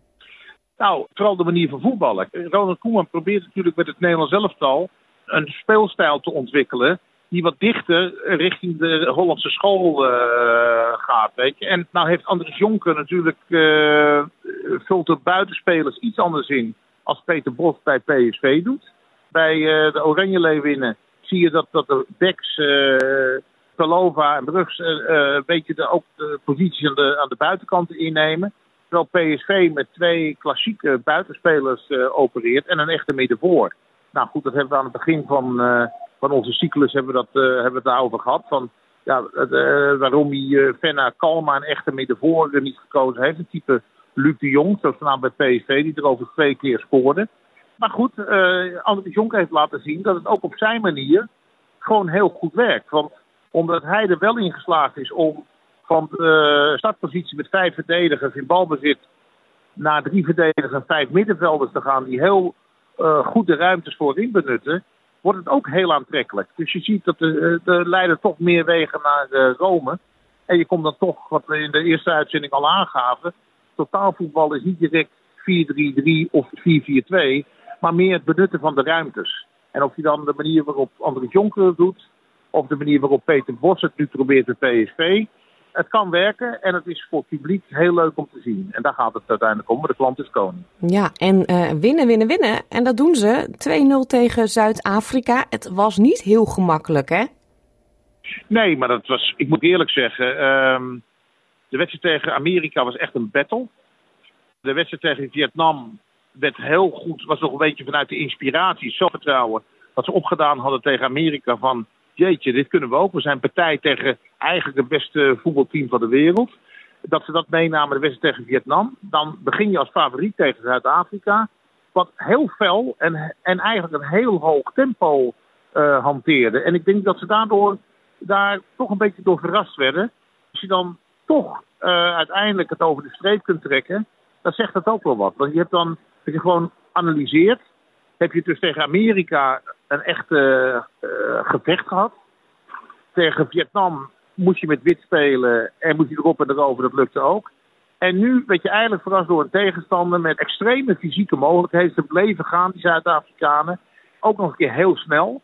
Nou, vooral de manier van voetballen. Ronald Koeman probeert natuurlijk met het Nederlands elftal een speelstijl te ontwikkelen die wat dichter richting de Hollandse school uh, gaat, weet je. En nou heeft Andries Jonker natuurlijk uh, vult de buitenspelers iets anders in als Peter Bos bij P S V doet. Bij uh, de Oranje Leeuwinnen zie je dat, dat de backs uh, Palova en Brugs uh, een beetje de, ook de posities aan de, aan de buitenkanten innemen. Terwijl P S V met twee klassieke buitenspelers uh, opereert en een echte middenvoor. Nou goed, dat hebben we aan het begin van, uh, van onze cyclus hebben we, dat, uh, hebben we het daarover gehad. Van, ja, uh, waarom hij uh, Venna Kalma een echte middenvoor uh, niet gekozen heeft. Een type Luc de Jong, zoals naam bij P S V, die er over twee keer scoorde. Maar goed, uh, Andries Jonker heeft laten zien dat het ook op zijn manier gewoon heel goed werkt. Want omdat hij er wel in geslaagd is om van de startpositie met vijf verdedigers in balbezit naar drie verdedigers en vijf middenvelders te gaan die heel uh, goed de ruimtes voorin benutten, wordt het ook heel aantrekkelijk. Dus je ziet dat de, de leiden toch meer wegen naar uh, Rome. En je komt dan toch, wat we in de eerste uitzending al aangaven, totaalvoetbal is niet direct vier drie drie of vier vier twee, maar meer het benutten van de ruimtes. En of je dan de manier waarop Andries Jonker het doet, of de manier waarop Peter Bos het nu probeert bij P S V, het kan werken en het is voor het publiek heel leuk om te zien. En daar gaat het uiteindelijk om, maar de klant is koning. Ja, en uh, winnen, winnen, winnen. En dat doen ze. twee nul tegen Zuid-Afrika. Het was niet heel gemakkelijk, hè? Nee, maar dat was, ik moet eerlijk zeggen, um, de wedstrijd tegen Amerika was echt een battle. De wedstrijd tegen Vietnam werd heel goed, was nog een beetje vanuit de inspiratie, zelfvertrouwen, wat ze opgedaan hadden tegen Amerika van, jeetje, dit kunnen we ook. We zijn partij tegen eigenlijk het beste voetbalteam van de wereld. Dat ze dat meenamen, de wedstrijd tegen Vietnam. Dan begin je als favoriet tegen Zuid-Afrika. Wat heel fel en, en eigenlijk een heel hoog tempo uh, hanteerde. En ik denk dat ze daardoor daar toch een beetje door verrast werden. Als je dan toch uh, uiteindelijk het over de streep kunt trekken, dan zegt dat ook wel wat. Want je hebt dan, als je gewoon analyseert, heb je dus tegen Amerika een echte uh, gevecht gehad. Tegen Vietnam moest je met wit spelen en moest je erop en erover, dat lukte ook. En nu werd je eigenlijk verrast door een tegenstander met extreme fysieke mogelijkheden. Ze bleven gaan, die Zuid-Afrikanen. Ook nog een keer heel snel.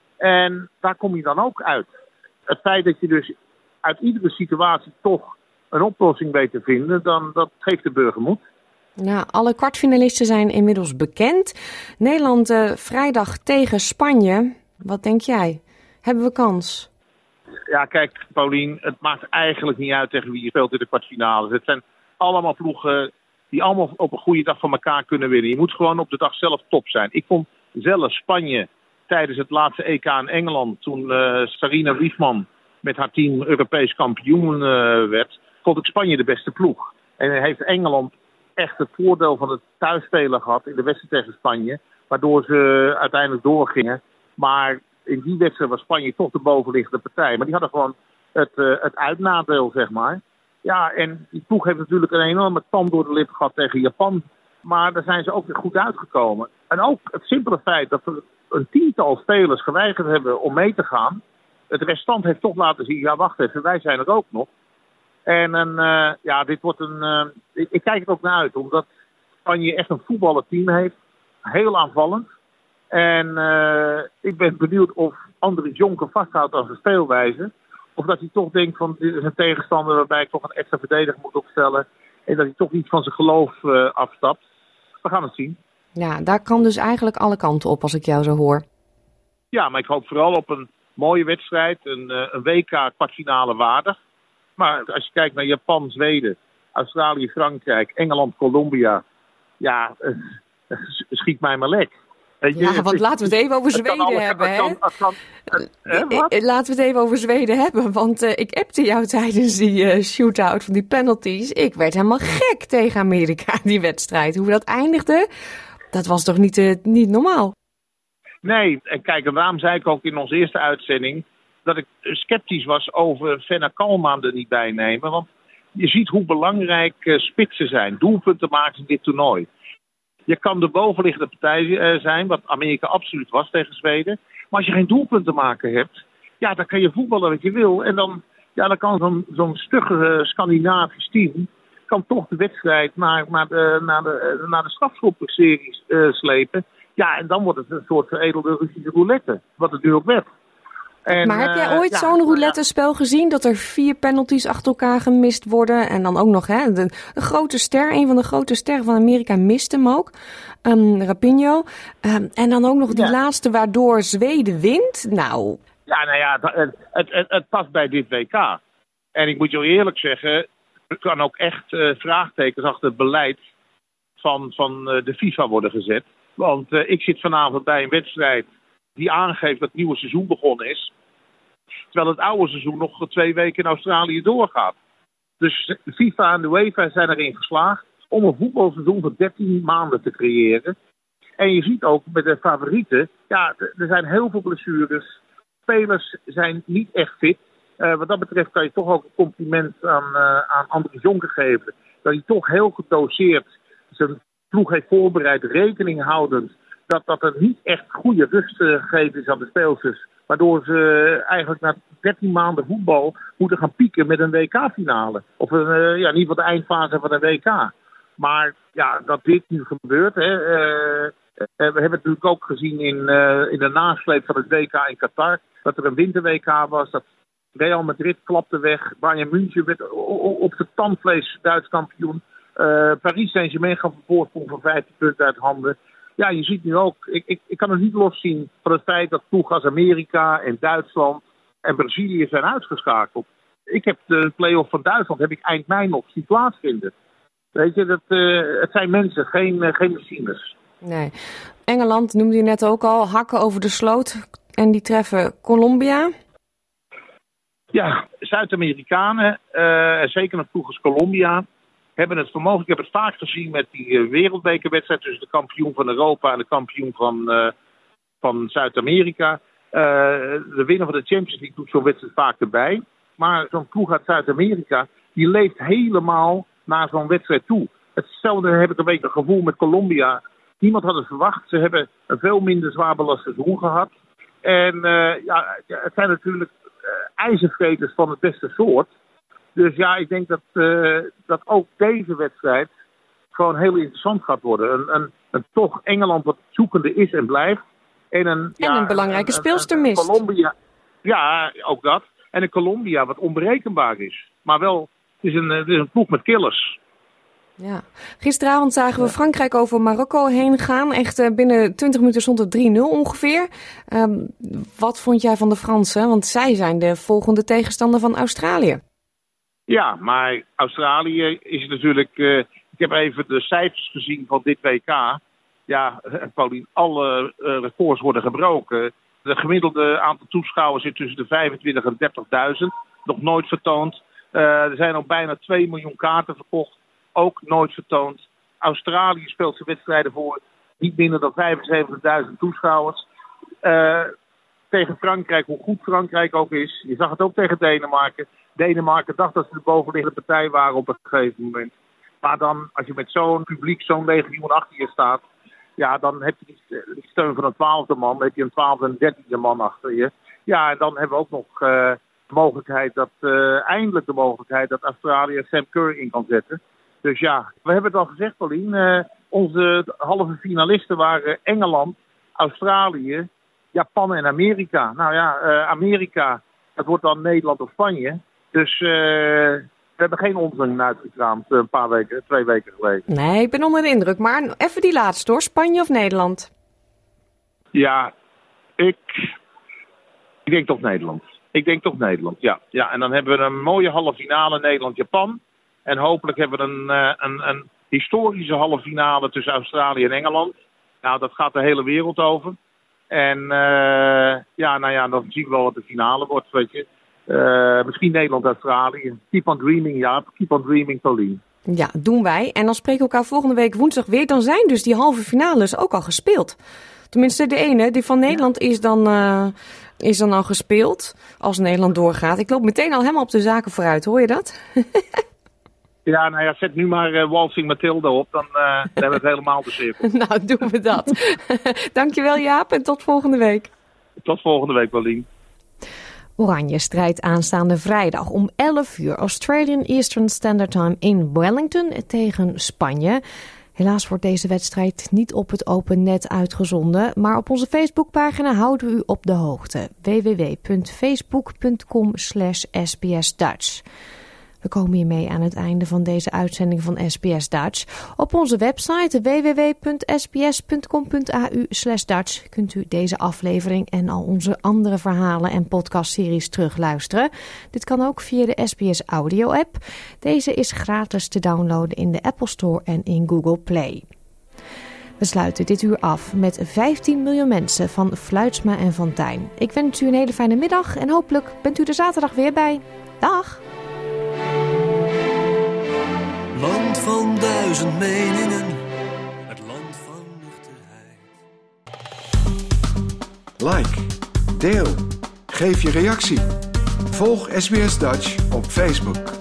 En daar kom je dan ook uit. Het feit dat je dus uit iedere situatie toch een oplossing weet te vinden, dan dat geeft de burger moed. Nou, alle kwartfinalisten zijn inmiddels bekend. Nederland uh, vrijdag tegen Spanje. Wat denk jij? Hebben we kans? Ja, kijk, Paulien, het maakt eigenlijk niet uit tegen wie je speelt in de kwartfinales. Het zijn allemaal ploegen die allemaal op een goede dag van elkaar kunnen winnen. Je moet gewoon op de dag zelf top zijn. Ik vond zelf Spanje tijdens het laatste E K in Engeland, toen uh, Sarina Wiegman met haar team Europees kampioen uh, werd, vond ik Spanje de beste ploeg. En heeft Engeland echt het voordeel van het thuisspelen gehad in de wedstrijd tegen Spanje, waardoor ze uiteindelijk doorgingen. Maar in die wedstrijd was Spanje toch de bovenliggende partij. Maar die hadden gewoon het, uh, het uitnadeel, zeg maar. Ja, en die ploeg heeft natuurlijk een enorme tand door de lip gehad tegen Japan. Maar daar zijn ze ook weer goed uitgekomen. En ook het simpele feit dat er een tiental spelers geweigerd hebben om mee te gaan. Het restant heeft toch laten zien, ja wacht even, wij zijn er ook nog. En een, uh, ja, dit wordt een... Uh, ik, ik kijk er ook naar uit, omdat Spanje echt een voetballend team heeft. Heel aanvallend. En uh, ik ben benieuwd of Andries Jonker vasthoudt aan zijn speelwijze. Of dat hij toch denkt van, dit is een tegenstander waarbij ik toch een extra verdediger moet opstellen. En dat hij toch iets van zijn geloof uh, afstapt. We gaan het zien. Ja, daar kan dus eigenlijk alle kanten op als ik jou zo hoor. Ja, maar ik hoop vooral op een mooie wedstrijd. Een, uh, een W K kwartfinale waardig. Maar als je kijkt naar Japan, Zweden, Australië, Frankrijk, Engeland, Colombia. Ja, uh, uh, schiet mij maar lek. Ja, want laten we het even over Zweden alle, hebben, hè? Kan, kan, eh, laten we het even over Zweden hebben, want uh, ik appte jou tijdens die uh, shootout van die penalties. Ik werd helemaal gek tegen Amerika, die wedstrijd. Hoe dat eindigde, dat was toch niet, uh, niet normaal? Nee, en kijk, en daarom zei ik ook in onze eerste uitzending dat ik sceptisch was over Venna Kalman er niet bij nemen. Want je ziet hoe belangrijk uh, spitsen zijn, doelpunten maken in dit toernooi. Je kan de bovenliggende partij uh, zijn, wat Amerika absoluut was tegen Zweden. Maar als je geen doelpunten maken hebt, ja, dan kan je voetballen wat je wil. En dan, ja, dan kan zo'n, zo'n stugge uh, Scandinavisch team kan toch de wedstrijd naar, naar de, naar de, naar de strafschopseries uh, slepen. Ja, en dan wordt het een soort veredelde Russische roulette, wat het nu ook werd. En, maar heb jij ooit uh, zo'n ja, roulette-spel gezien dat er vier penalties achter elkaar gemist worden? En dan ook nog, hè, de, de grote ster, een van de grote sterren van Amerika mist hem ook. Um, Rapinoe. Um, en dan ook nog die ja. laatste waardoor Zweden wint. Nou. Ja, nou ja, het, het, het, het past bij dit W K. En ik moet je eerlijk zeggen, er kan ook echt uh, vraagtekens achter het beleid van, van uh, de FIFA worden gezet. Want uh, ik zit vanavond bij een wedstrijd die aangeeft dat het nieuwe seizoen begonnen is. Terwijl het oude seizoen nog twee weken in Australië doorgaat. Dus FIFA en de UEFA zijn erin geslaagd om een voetbalseizoen van dertien maanden te creëren. En je ziet ook met de favorieten, ja, er zijn heel veel blessures. Spelers zijn niet echt fit. Uh, wat dat betreft kan je toch ook een compliment aan, uh, aan Andries Jonker geven. Dat hij toch heel gedoseerd zijn ploeg heeft voorbereid, rekening houdend dat, dat er niet echt goede rust gegeven is aan de speelsters. Waardoor ze eigenlijk na dertien maanden voetbal moeten gaan pieken met een W K-finale. Of een, uh, ja, in ieder geval de eindfase van een W K. Maar ja, dat dit nu gebeurt. Hè, uh, uh, we hebben het natuurlijk ook gezien in, uh, in de nasleep van het W K in Qatar. Dat er een winter-W K was. Dat Real Madrid klapte weg. Bayern München werd op de tandvlees Duits kampioen. Uh, Paris Saint-Germain gaf een voorsprong van vijftien punten uit handen. Ja, je ziet nu ook, ik, ik, ik kan het niet loszien van het feit dat ploegen als Amerika en Duitsland en Brazilië zijn uitgeschakeld. Ik heb de play-off van Duitsland heb ik eind mei nog zien plaatsvinden. Weet je, dat, uh, het zijn mensen, geen, uh, geen machines. Nee. Engeland noemde je net ook al, hakken over de sloot. En die treffen Colombia. Ja, Zuid-Amerikanen, uh, zeker een ploeg als Colombia, hebben het vermogen. Ik heb het vaak gezien met die uh, wereldbekerwedstrijd tussen de kampioen van Europa en de kampioen van, uh, van Zuid-Amerika. Uh, de winnaar van de Champions League doet zo'n wedstrijd vaak erbij. Maar zo'n ploeg uit Zuid-Amerika, die leeft helemaal naar zo'n wedstrijd toe. Hetzelfde heb ik een beetje het gevoel met Colombia. Niemand had het verwacht. Ze hebben een veel minder zwaar belast seizoen gehad. En uh, ja, het zijn natuurlijk uh, ijzervreters van het beste soort. Dus ja, ik denk dat, uh, dat ook deze wedstrijd gewoon heel interessant gaat worden. Een, een, een toch Engeland wat zoekende is en blijft. En een, en ja, een belangrijke een, speelster een, een mist. Colombia, ja, ook dat. En een Colombia wat onberekenbaar is. Maar wel, het is een, het is een ploeg met killers. Ja. Gisteravond zagen we Frankrijk over Marokko heen gaan. Echt uh, binnen twintig minuten stond het drie nul ongeveer. Um, wat vond jij van de Fransen? Want zij zijn de volgende tegenstander van Australië. Ja, maar Australië is natuurlijk... Uh, ik heb even de cijfers gezien van dit W K. Ja, Paulien, alle uh, records worden gebroken. De gemiddelde aantal toeschouwers zit tussen de vijfentwintig en dertigduizend. Nog nooit vertoond. Uh, er zijn al bijna twee miljoen kaarten verkocht. Ook nooit vertoond. Australië speelt zijn wedstrijden voor niet minder dan vijfenzeventigduizend toeschouwers. Uh, tegen Frankrijk, hoe goed Frankrijk ook is. Je zag het ook tegen Denemarken. Denemarken dacht dat ze de bovenliggende partij waren op een gegeven moment. Maar dan, als je met zo'n publiek, zo'n legioen achter je staat... ja, dan heb je die steun van een twaalfde man. Dan heb je een twaalfde en dertiende man achter je. Ja, en dan hebben we ook nog uh, de mogelijkheid dat... Uh, eindelijk de mogelijkheid dat Australië Sam Kerr in kan zetten. Dus ja, we hebben het al gezegd, Paulien. Uh, onze halve finalisten waren Engeland, Australië, Japan en Amerika. Nou ja, uh, Amerika, dat wordt dan Nederland of Spanje. Dus uh, we hebben geen onzin uitgekraamd uh, een paar weken, twee weken geleden. Nee, ik ben onder de indruk. Maar even die laatste hoor, Spanje of Nederland? Ja, ik, ik denk toch Nederland. Ik denk toch Nederland, ja. ja. En dan hebben we een mooie halve finale Nederland-Japan. En hopelijk hebben we een, een, een historische halve finale tussen Australië en Engeland. Nou, dat gaat de hele wereld over. En uh, ja, nou ja, dan zien we wel wat de finale wordt, weet je. Uh, misschien Nederland-Australië. Keep on dreaming, ja. Keep on dreaming, Paulien. Ja, doen wij. En dan spreken we elkaar volgende week woensdag weer. Dan zijn dus die halve finales ook al gespeeld. Tenminste, de ene, die van Nederland, is dan, uh, is dan al gespeeld. Als Nederland doorgaat. Ik loop meteen al helemaal op de zaken vooruit, hoor je dat? Ja, nou ja, zet nu maar uh, Waltzing Mathilde op, dan, uh, dan hebben we het helemaal de cirkel. Nou, doen we dat. Dankjewel Jaap en tot volgende week. Tot volgende week, Paulien. Oranje strijdt aanstaande vrijdag om elf uur Australian Eastern Standard Time in Wellington tegen Spanje. Helaas wordt deze wedstrijd niet op het open net uitgezonden, maar op onze Facebookpagina houden we u op de hoogte. w w w punt facebook punt com slash s b s dutch. We komen hiermee aan het einde van deze uitzending van S B S Dutch. Op onze website w w w punt s b s punt com punt a u slash dutch kunt u deze aflevering en al onze andere verhalen en podcastseries terugluisteren. Dit kan ook via de S B S Audio app. Deze is gratis te downloaden in de Apple Store en in Google Play. We sluiten dit uur af met vijftien miljoen mensen van Fluitsma en Fontijn. Ik wens u een hele fijne middag en hopelijk bent u er zaterdag weer bij. Dag! Land van duizend meningen, het land van nuchterheid. Like, deel, geef je reactie. Volg S B S Dutch op Facebook.